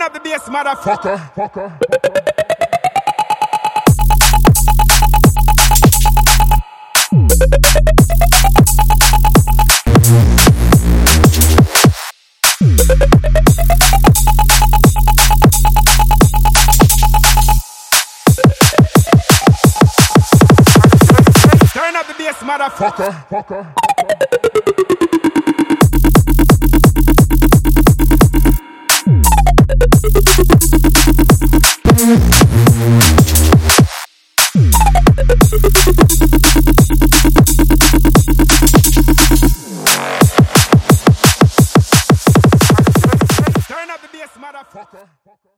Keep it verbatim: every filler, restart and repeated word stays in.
up the bass, motherfucker. Fucker. Turn up the bass, motherfucker. Fucker. Turn up the bass, motherfucker.